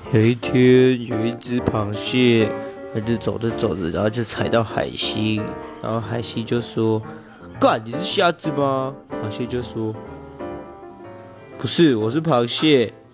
有一天，有一隻螃蟹，它就走着走着，然後就踩到海星，然後海星就說：“幹，你是蝦子嗎？”螃蟹就說：“不是，我是螃蟹。”